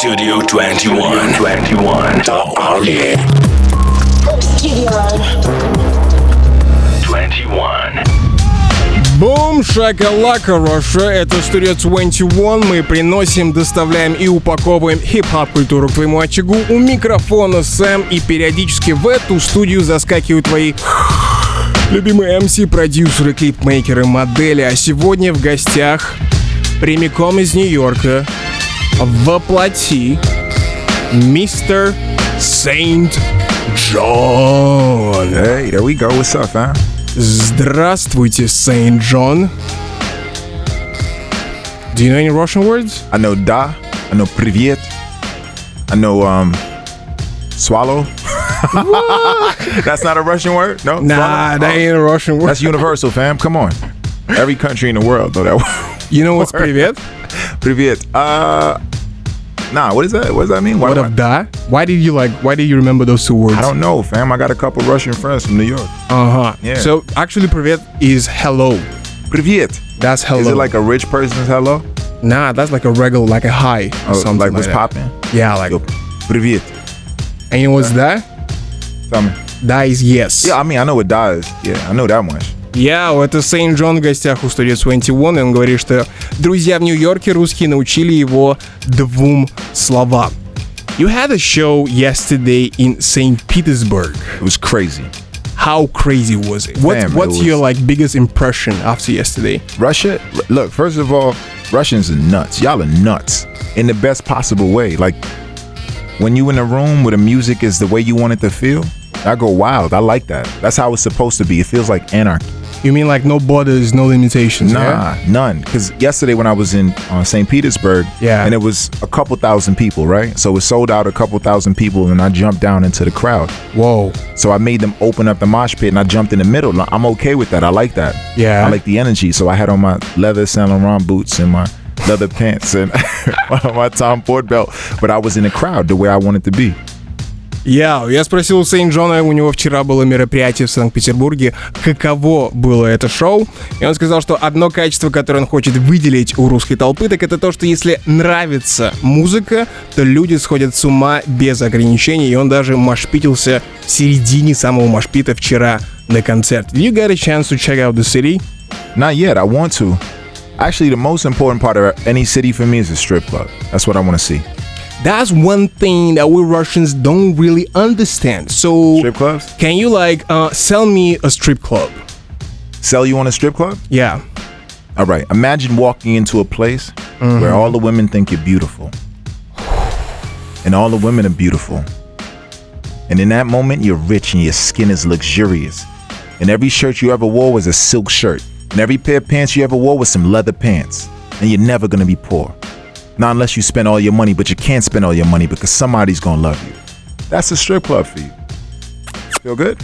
Studio 21. 21. The Army. Studio 21. Бум, шакалака, Russia, это Studio 21. Мы приносим, доставляем и упаковываем хип-хоп культуру к твоему очагу. У микрофона Сэм, и периодически в эту студию заскакивают твои любимые MC, продюсеры, клипмейкеры, модели. А сегодня в гостях прямиком из Нью-Йорка воплоти мистер Saint John. Hey, there we go. What's up, fam? Здравствуйте, Saint John. Do you know any Russian words? I know da. I know привет. I know swallow. That's not a Russian word? No? Nah, Swallow? that ain't a Russian word. That's universal, fam. Come on. Every country in the world know that word. You know what's привет? Привет. Nah, what is that? What does that mean? What of da? Why did you remember those two words? I don't know, fam. I got a couple Russian friends from New York. Uh-huh. Yeah. So actually привет is hello. Привет. That's hello. Is it like a rich person's hello? Nah, that's like a regular, like a hi or Oh, something like what's that. popping? Yeah, like. Yo, привет. And you know what's that? Tell me. Da is yes. Yeah, I mean, I know what da is. Yeah, I know that much. Это Saint John в гостях у Studio 21, и он говорит, что друзья в Нью-Йорке русские научили его двум словам. You had a show yesterday in St. Petersburg. It was crazy. How crazy was it? Damn, What's it was- your biggest impression after yesterday? Russia, look, first of all, Russians are nuts. Y'all are nuts in the best possible way. Like, when you in a room where the music is the way you want it to feel, I go wild. I like that. That's how it's supposed to be. It feels like anarchy. You mean like no borders, no limitations? Nah, Yeah? none. Because yesterday when I was in St. Petersburg, Yeah. and it was a couple thousand people, right? So it sold out a couple thousand people, and I jumped down into the crowd. Whoa. So I made them open up the mosh pit, and I jumped in the middle. I'm okay with that. I like that. Yeah. I like the energy. So I had on my leather Saint Laurent boots and my leather pants and my Tom Ford belt, but I was in the crowd the way I wanted to be. Я спросил у Сейнт Джона, у него вчера было мероприятие в Санкт-Петербурге, каково было это шоу, и он сказал, что одно качество, которое он хочет выделить у русской толпы, так это то, что если нравится музыка, то люди сходят с ума без ограничений, и он даже машпитился в середине самого машпита вчера на концерте. Did you get a chance to check out the city? Not yet. I want to. Actually, the most important part of any city for me is a strip club. That's what I want to see. That's one thing that we Russians don't really understand. So, Strip clubs? can you sell me a strip club? Sell you on a strip club? Yeah. All right. Imagine walking into a place where all the women think you're beautiful. And all the women are beautiful. And in that moment, you're rich and your skin is luxurious. And every shirt you ever wore was a silk shirt. And every pair of pants you ever wore was some leather pants. And you're never going to be poor. Not unless you spend all your money, but you can't spend all your money because somebody's gonna love you. That's a strip club for you. Feel good?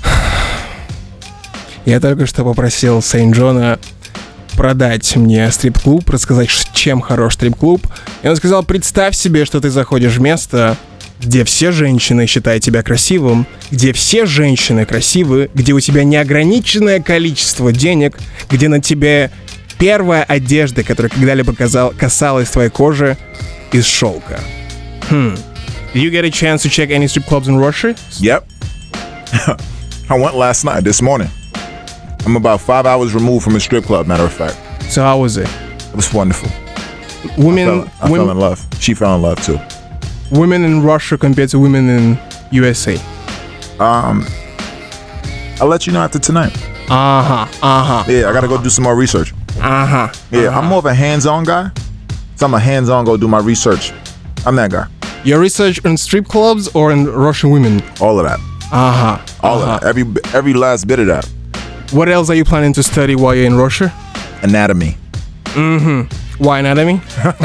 Я только что попросил Сейнт Джона продать мне стрип-клуб, рассказать, чем хорош стрип-клуб. И он сказал, представь себе, что ты заходишь в место, где все женщины считают тебя красивым, где все женщины красивы, где у тебя неограниченное количество денег, где на тебе первая одежда, которая когда-либо касалась твоей кожи, из шелка. Did you get a chance to check any strip clubs in Russia? Yep. I went last night, this morning. I'm about 5 hours removed from a strip club, matter of fact. So how was it? It was wonderful. Women, I fell in love. She fell in love too. women in Russia compared to women in USA. I'll let you know after tonight. Yeah, I gotta go do some more research. Yeah, I'm more of a hands-on guy. So I'm a hands-on, go do my research. I'm that guy. Your research on strip clubs or in Russian women? All of that. All of that. Every last bit of that. What else are you planning to study while you're in Russia? Anatomy. Why anatomy?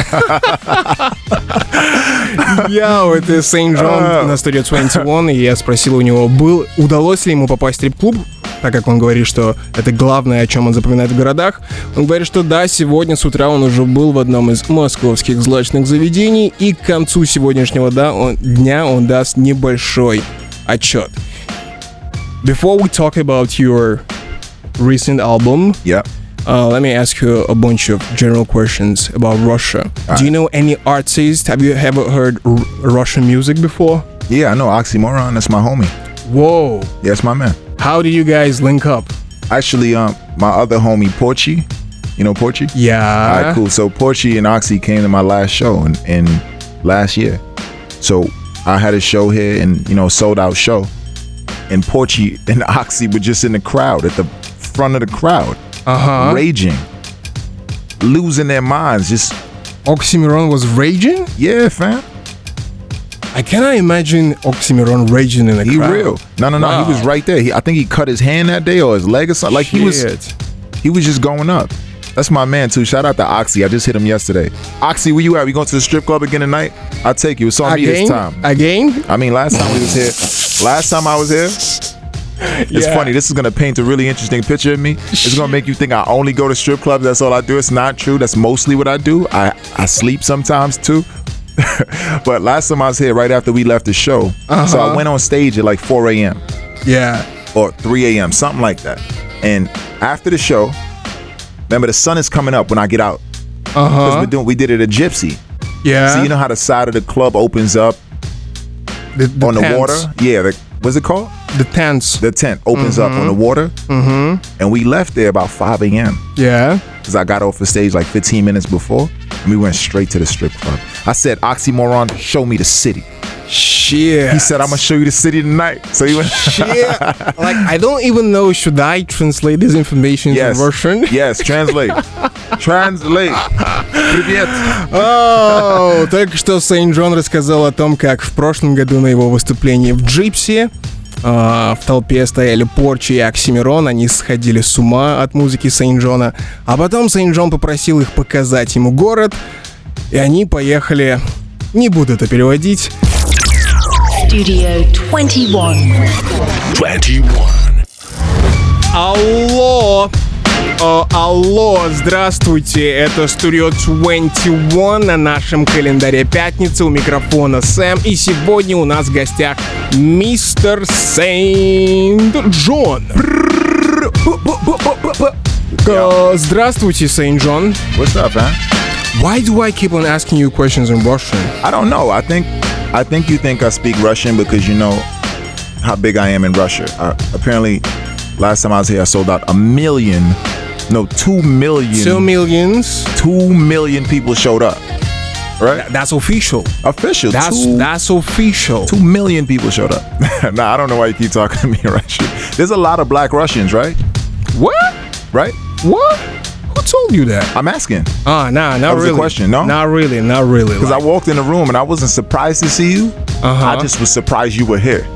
Это Saint John на Studio 21, и я спросил у него, удалось ли ему попасть в стрип-клуб, так как он говорит, что это главное, о чем он запоминает в городах. Он говорит, что да, сегодня с утра он уже был в одном из московских злачных заведений, и к концу сегодняшнего дня он даст небольшой отчет. Before we talk about your recent album, Yep. let me ask you a bunch of general questions about Russia. Do you know any artists? Have you ever heard Russian music before? Yeah, I know Oxymoron. That's my homie. Whoa. Yeah, that's my man. How do you guys link up? Actually, my other homie, Porchy. You know Porchy? Yeah. All right, cool. So Porchy and Oxy came to my last show in last year. So I had a show here and, sold out show. And Porchy and Oxy were just in the crowd, at the front of the crowd. Raging. Losing their minds. Just Oxymoron was raging? Yeah, fam. I cannot imagine Oxymoron raging in a crowd. He real. No. Wow. He was right there. I think he cut his hand that day or his leg or something. Like he was just going up. That's my man too. Shout out to Oxy. I just hit him yesterday. Oxy, where you at? We going to the strip club again tonight? I'll take you. It's on me this time. Again? I mean, last time we was here. Last time I was here. It's funny. This is going to paint a really interesting picture of me. It's going to make you think I only go to strip clubs. That's all I do. It's not true. That's mostly what I do. I sleep sometimes too. But last time I was here, right after we left the show. So I went on stage at like 4 a.m. Yeah. Or 3 a.m. Something like that. And after the show, remember the sun is coming up when I get out. Because we did it at Gypsy. Yeah. So you know how the side of the club opens up the on the tents. water? Yeah. What's it called? The tents. The tent opens up on the water. And we left there about 5 a.m. Yeah. Because I got off the stage like 15 minutes before. And we went straight to the strip club. I said, Oxymoron, show me the city. Shit. He said, I'm going to show you the city tonight. So he went. Shit. Like, I don't even know, should I translate this information in Russian? Yes, translate. Translate. Привет. Только что Сейн Джон рассказал о том, как в прошлом году на его выступлении в Джипси в толпе стояли Порчи и Оксимирон, они сходили с ума от музыки Сейн Джона, а потом Сейн Джон попросил их показать ему город, и они поехали, не буду это переводить. Studio 21. 21. Алло, здравствуйте, это Studio 21 на нашем календаре пятница, у микрофона Сэм, и сегодня у нас в гостях мистер Сейн Джон. Здравствуйте, Сейн Джон. What's up, man? Why do I keep on asking you questions in Russian? I don't know. I think you think I speak Russian because you know how big I am in Russia. Apparently, last time I was here, I sold out 2 million. 2 millions. 2 million people showed up. Right? That's official. Official. That's official. 2 million people showed up. Nah, I don't know why you keep talking to me in Russian. There's a lot of black Russians, right? What? Right? What? Who told you that? I'm asking. Nah, not that was really. The question, no? Not really. Because I walked in the room and I wasn't surprised to see you. I just was surprised you were here.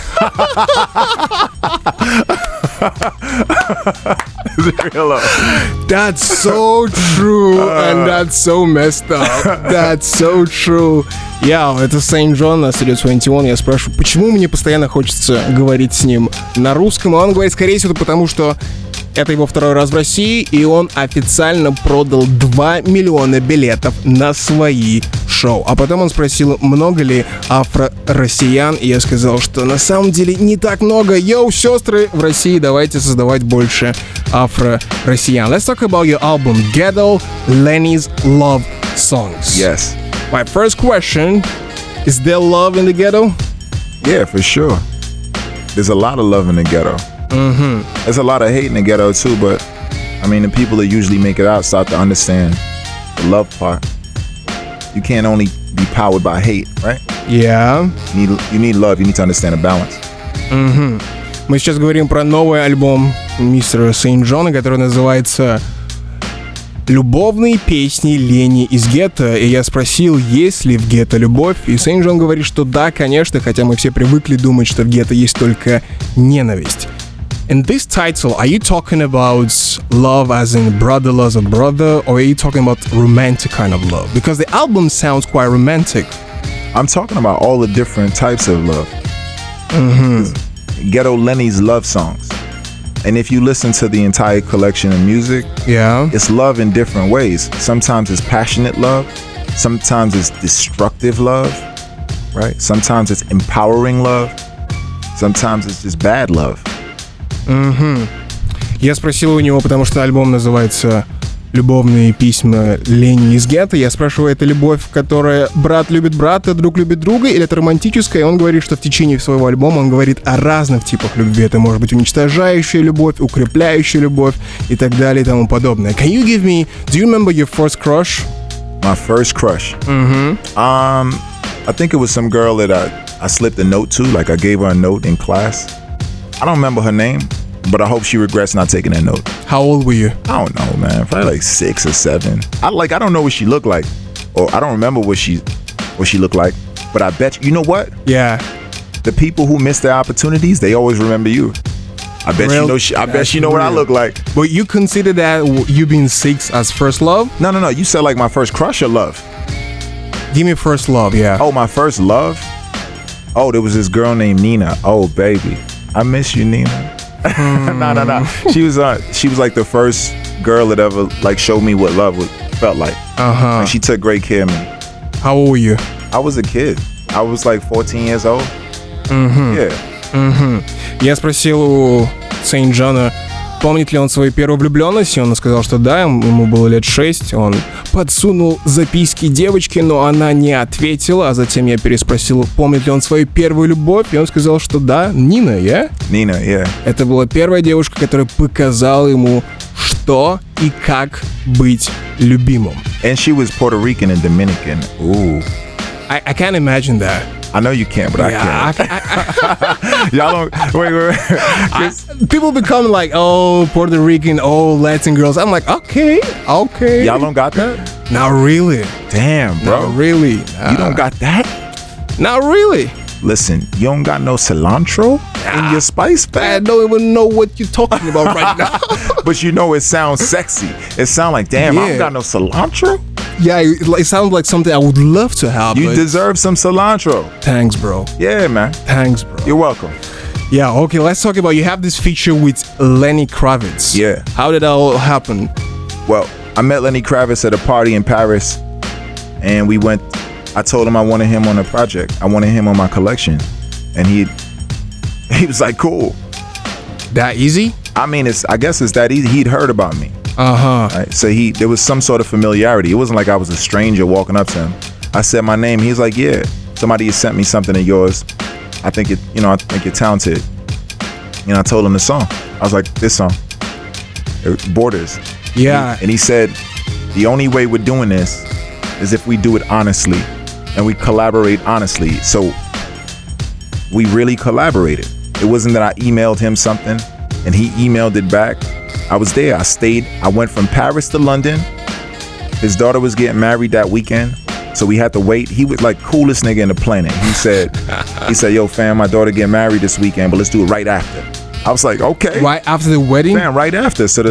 That's so true, and that's so messed up. That's so true. Это Сейн Джон на Studio 21. Я спрашиваю, почему мне постоянно хочется говорить с ним на русском, а он говорит, скорее всего, потому что это его второй раз в России, и он официально продал 2 миллиона билетов на свои шоу. А потом он спросил, много ли афро-россиян, и я сказал, что на самом деле не так много. Йоу, сестры в России, давайте создавать больше афро-россиян. Let's talk about your album, Ghetto Lenny's Love Songs. Yes. My first question, is there love in the ghetto? Yeah, for sure. There's a lot of love in the ghetto. There's a lot of hate in the ghetto too, but I mean, the people that usually make it out start to understand the love part. You can't only be powered by hate, right? Yeah. You need love. You need to understand the balance. Мы сейчас говорим про новый альбом мистера Сейн Джона, который называется «Любовные песни Лени из гетто». И я спросил, есть ли в гетто любовь, и Сейн Джон говорит, что да, конечно, хотя мы все привыкли думать, что в гетто есть только ненависть. In this title, are you talking about love as in brother loves a brother, or are you talking about romantic kind of love? Because the album sounds quite romantic. I'm talking about all the different types of love. Ghetto Lenny's love songs. And if you listen to the entire collection of music, it's love in different ways. Sometimes it's passionate love. Sometimes it's destructive love, right? Sometimes it's empowering love. Sometimes it's just bad love. Я спросил у него, потому что альбом называется «Любовные письма Лени из гетто». Я спрашиваю, это любовь, которая брат любит брата, друг любит друга, или это романтическая? И он говорит, что в течение своего альбома он говорит о разных типах любви. Это может быть уничтожающая любовь, укрепляющая любовь и так далее и тому подобное. Can you give me, do you remember your first crush? My first crush? I think it was some girl that I slipped a note to, like I gave her a note in class. I don't remember her name, but I hope she regrets not taking that note. How old were you? I don't know, man. Probably like 6 or 7. I don't know what she looked like, or I don't remember what she looked like. But I bet you know what? Yeah. The people who miss their opportunities, they always remember you. I bet you know. I bet you know what I look like. But you consider that you being 6 as first love? No. You said like my first crush or love? Give me first love, yeah. Oh, my first love? Oh, there was this girl named Nina. Oh, baby, I miss you, Nina. No. She was like the first girl that ever like showed me what love felt like. And she took great care of me. How old were you? I was a kid. I was like 14 years old. Yeah. Я спросил у Сейнт-Джона, помнит ли он свою первую влюбленность, и он сказал, что да, ему было лет 6. Он подсунул записки девочке, но она не ответила, а затем я переспросил, помнит ли он свою первую любовь, и он сказал, что да, Нина, yeah? Nina, yeah. Это была первая девушка, которая показала ему, что и как быть любимым. And she was Puerto Rican and Dominican. Ooh. I can't imagine that. I know you can't, but I can. Y'all don't. Wait. People become like, oh, Puerto Rican, oh, Latin girls. I'm like, okay. Y'all don't got that? Not really. Damn, bro. Not really. You don't got that? Not really. Listen, you don't got no cilantro in your spice bag? I don't even know what you're talking about right now. But you know it sounds sexy. It sounds like, damn, I don't got no cilantro? Yeah, it sounds like something I would love to have. You deserve some cilantro. Thanks, bro. Yeah, man. Thanks, bro. You're welcome. Yeah, okay, let's talk about, you have this feature with Lenny Kravitz. Yeah. How did that all happen? Well, I met Lenny Kravitz at a party in Paris, and I told him I wanted him on a project. I wanted him on my collection. And he was like, cool. That easy? I mean, I guess it's that easy. He'd heard about me. Right? So there was some sort of familiarity. It wasn't like I was a stranger walking up to him. I said my name. He's like, yeah, somebody has sent me something of yours. I think you're talented. I told him the song. I was like, this song, Borders. Yeah. And he said, the only way we're doing this is if we do it honestly and we collaborate honestly. So we really collaborated. It wasn't that I emailed him something and he emailed it back. I was there. I stayed. I went from Paris to London. His daughter was getting married that weekend, so we had to wait. He was like coolest nigga in the planet. He said, yo, fam, my daughter getting married this weekend, but let's do it right after. I was like, okay. Right after the wedding? Man, right after. So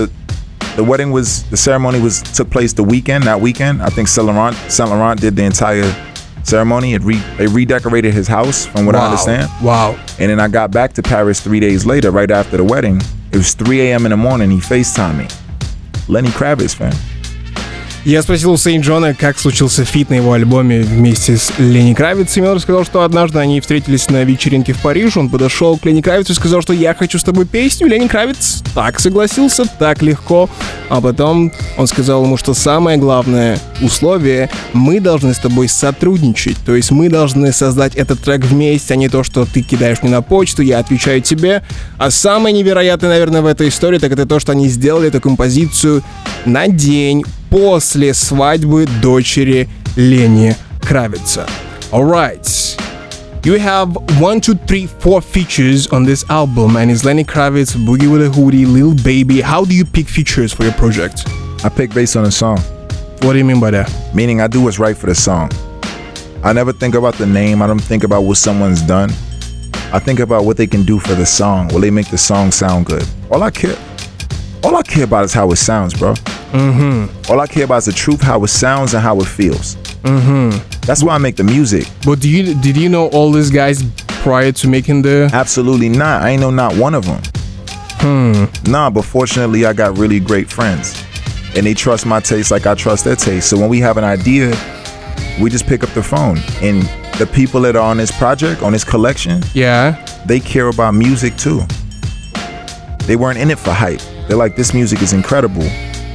the ceremony took place that weekend. I think Saint Laurent did the entire ceremony. They redecorated his house, from what I understand. Wow. And then I got back to Paris 3 days later, right after the wedding. It was 3 a.m. in the morning. He FaceTimed me. Lenny Kravitz, fam. Я спросил у Сейнт-Джона, как случился фит на его альбоме вместе с Ленни Кравицем, и он рассказал, что однажды они встретились на вечеринке в Париже, он подошел к Ленни Кравицу и сказал, что я хочу с тобой песню. Ленни Кравиц так согласился, так легко, а потом он сказал ему, что самое главное условие — мы должны с тобой сотрудничать, то есть мы должны создать этот трек вместе, а не то, что ты кидаешь мне на почту, я отвечаю тебе. А самое невероятное, наверное, в этой истории, так это то, что они сделали эту композицию на день после свадьбы дочери Ленни Кравица. Alright. You have 1, 2, 3, 4 features on this album, and it's Lenny Kravitz, Boogie with a Hoodie, Lil Baby. How do you pick features for your project? I pick based on the song. What do you mean by that? Meaning I do what's right for the song. I never think about the name. I don't think about what someone's done. I think about what they can do for the song. Will they make the song sound good? All I care about is how it sounds, bro. All I care about is the truth, how it sounds and how it feels. That's why I make the music. But did you know all these guys prior to making the... Absolutely not. I ain't know not one of them. Nah, but fortunately I got really great friends. And they trust my taste like I trust their taste. So when we have an idea, we just pick up the phone. And the people that are on this project, on this collection, Yeah. they care about music too. They weren't in it for hype. They're like, this music is incredible.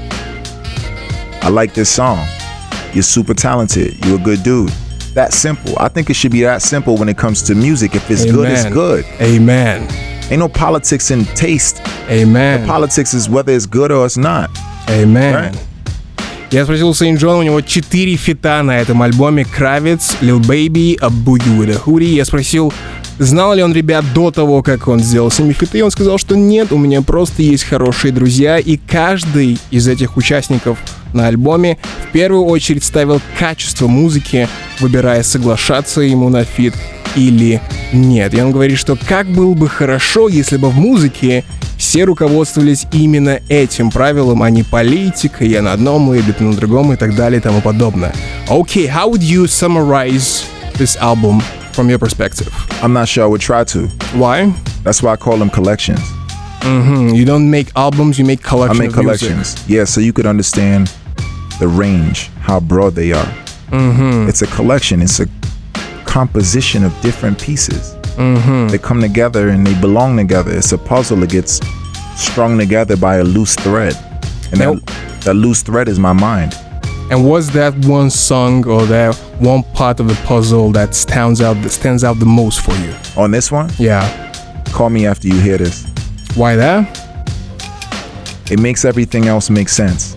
I like this song. You're super talented. You're a good dude. That simple. I think it should be that simple when it comes to music. If it's good, it's good. Amen. Ain't no politics in taste. Amen. The politics is whether it's good or it's not. Amen. Right? Я спросил у Сейнт Джона, у него 4 фита на этом альбоме: Kravitz, Lil Baby, A Boogie with a Hoodie. Я спросил, знал ли он ребят до того, как он сделал с ними фиты. Он сказал, что нет, у меня просто есть хорошие друзья, и каждый из этих участников на альбоме в первую очередь ставил качество музыки, выбирая, соглашаться ему на фит или нет. И он говорит, что как было бы хорошо, если бы в музыке все руководствовались именно этим правилом, а не политикой, я на одном лейбле, ты на другом и так далее и тому подобное. Okay, how would you summarize this album from your perspective? I'm not sure I would try to. Why? That's why I call them collections. You don't make albums, you make collections. I make collections. Yeah, so you could understand the range, how broad they are. It's a collection. It's a composition of different pieces. They come together and they belong together. It's a puzzle that gets strung together by a loose thread. And that loose thread is my mind. And what's that one song or that one part of the puzzle that stands out the most for you? On this one? Yeah. Call me after you hear this. Why that? It makes everything else make sense.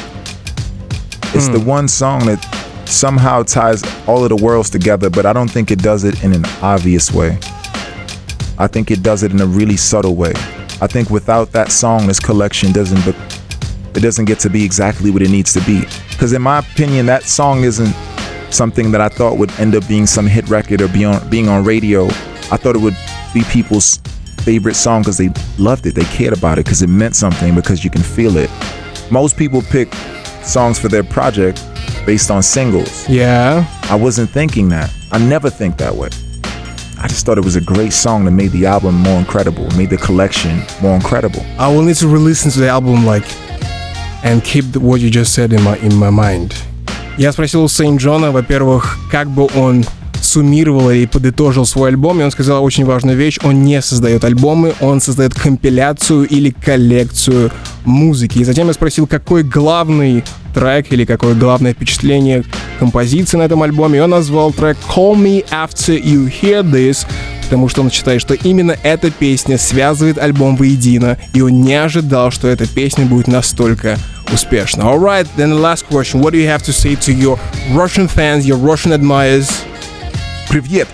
It's the one song that somehow ties all of the worlds together, but I don't think it does it in an obvious way. I think it does it in a really subtle way. I think without that song, this collection doesn't get to be exactly what it needs to be. Because in my opinion, that song isn't something that I thought would end up being some hit record or being on radio. I thought it would be people's favorite song because they loved it, they cared about it, because it meant something, because you can feel it. Most people pick songs for their project based on singles. Yeah. I wasn't thinking that. I never think that way. I just thought it was a great song that made the album more incredible, made the collection more incredible. I will need to re-listen to the album and keep what you just said in my mind. Я спросил у Сейнт Джона, во-первых, как бы он суммировал и подытожил свой альбом, и он сказал очень важную вещь: он не создает альбомы, он создает компиляцию или коллекцию музыки. И затем я спросил, какой главный трек или какое главное впечатление композиции на этом альбоме, и он назвал трек Call Me After You Hear This, потому что он считает, что именно эта песня связывает альбом воедино, и он не ожидал, что эта песня будет настолько успешна. Alright, then the last question. What do you have to say to your Russian fans, your Russian admirers? Привет.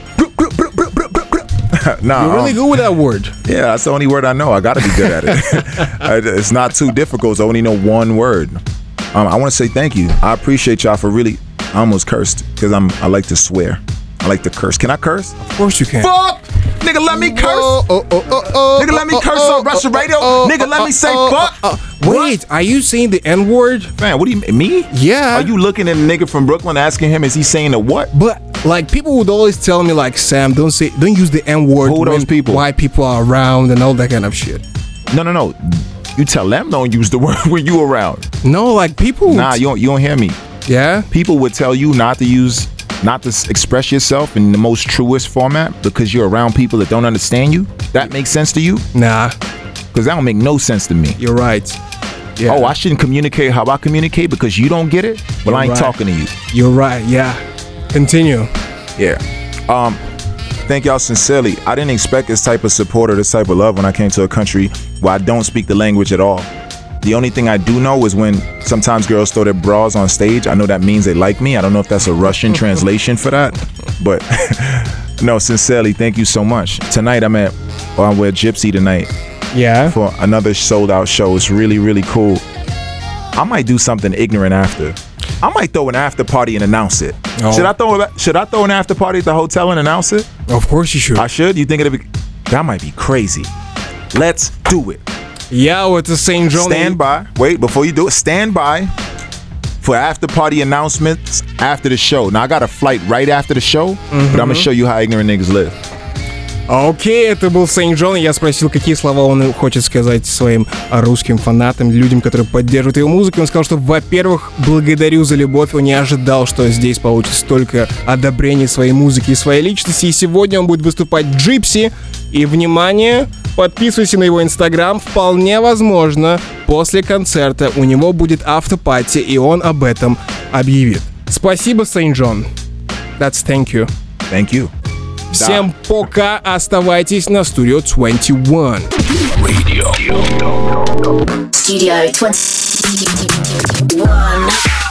Nah, You're really good with that word. Yeah, that's the only word I know. I gotta be good at it. It's not too difficult. I only know one word. I want to say thank you. I appreciate y'all for really. I almost cursed because I like to swear. I like to curse. Can I curse? Of course you can. Fuck! Nigga, let me curse. Nigga, let me curse on Russian radio. Nigga, let me say fuck. Wait, are you saying the N-word? Man, what do you mean? Me? Yeah. Are you looking at a nigga from Brooklyn asking him, is he saying the what? But people would always tell me Sam, don't use the N-word Who when those people? white people are around and all that kind of shit. No. You tell them don't use the word when you around. No, people. Nah, you don't hear me. Yeah. People would tell you not to express yourself in the most truest format because you're around people that don't understand you. That makes sense to you? Nah, Because that don't make no sense to me. you're right. Yeah. Oh, I shouldn't communicate how I communicate because you don't get it? Well, I ain't You're right. talking to you. You're right. Yeah. Continue. Yeah. Thank y'all sincerely. I didn't expect this type of support or this type of love when I came to a country where I don't speak the language at all. The only thing I do know is when sometimes girls throw their bras on stage, I know that means they like me. I don't know if that's a Russian translation for that, but no, sincerely, thank you so much. Tonight we're at Gypsy tonight Yeah. for another sold out show. It's really, really cool. I might do something ignorant after. I might throw an after party and announce it. Oh. Should I throw an after party at the hotel and announce it? Of course you should. I should? You think that might be crazy. Let's do it. Yeah, it's the St. John. Stand by. Wait, before you do it, stand by for after party announcements after the show. Now I got a flight right after the show, but I'm gonna show you how ignorant niggas live. Окей, это был Сейнт Джон. Я спросил, какие слова он хочет сказать своим русским фанатам, людям, которые поддерживают его музыку. Он сказал, что, во-первых, благодарю за любовь. Он не ожидал, что здесь получится столько одобрений своей музыки и своей личности. И сегодня он будет выступать в Джипси. И, внимание, подписывайся на его инстаграм. Вполне возможно, после концерта у него будет автопати, и он об этом объявит. Спасибо, Сейнт Джон. That's thank you. Thank you. Всем пока, оставайтесь на Studio 21. Radio. Studio 21.